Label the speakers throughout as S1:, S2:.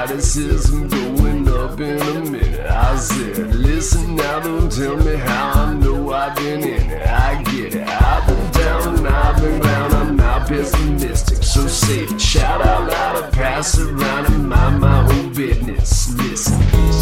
S1: Eroticism going up in a minute. I said, listen now, don't tell me how. I know I've been in it, I get it. I've been down and I've been round, I'm not pessimistic, so say it. Shout out loud or pass it around and mind my own business. Listen.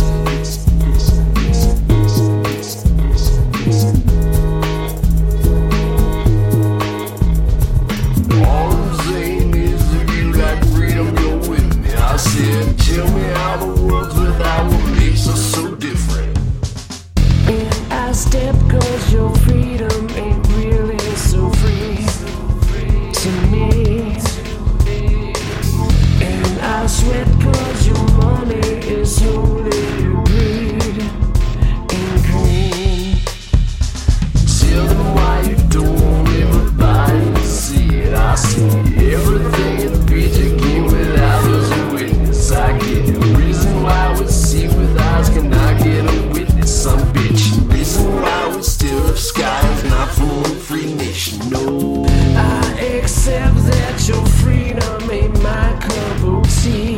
S1: All I'm saying is if you like freedom, you're with me. I said, tell me how the world's without what makes us so different.
S2: And I step cause your freedom ain't really so free to me. And I sweat cause your money is holy greed and green.
S1: Tell them why you don't want everybody to see it. I see everything in the picture came without us a witness. I get it. Reason why we see with eyes cannot get a witness. Some bitch. Reason why we still have skies not full of free nation. No,
S2: I accept that your freedom ain't my cup of tea.